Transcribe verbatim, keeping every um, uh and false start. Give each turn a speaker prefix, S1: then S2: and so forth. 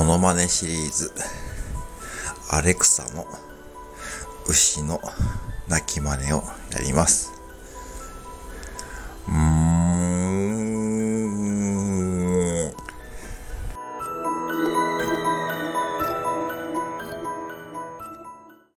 S1: ノマネシリーズ、アレクサの牛の鳴き真似をやります。